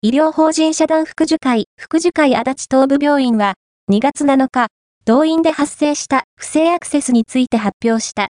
医療法人社団福寿会足立東部病院は、2月7日、同院で発生した不正アクセスについて発表した。